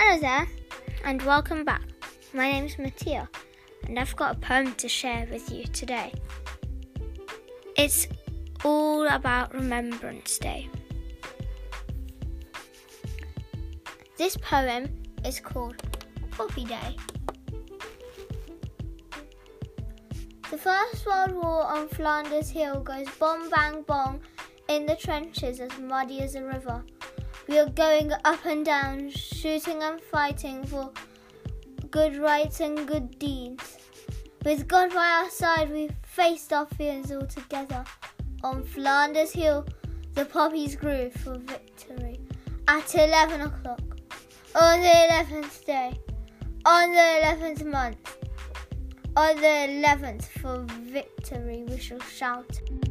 Hello there, and welcome back. My name's Mattia, and I've got a poem to share with you today. It's all about Remembrance Day. This poem is called Poppy Day. The First World War on Flanders Hill goes bomb bang bong in the trenches as muddy as a river. We are going up and down, shooting and fighting for good rights and good deeds. With God by our side, we faced our fears all together. On Flanders Hill, the poppies grew for victory. At 11 o'clock, on the 11th day, on the 11th month, on the 11th for victory we shall shout.